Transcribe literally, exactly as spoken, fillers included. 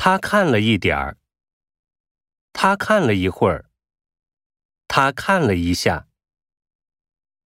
他看了一点儿，他看了一会儿，他看了一下。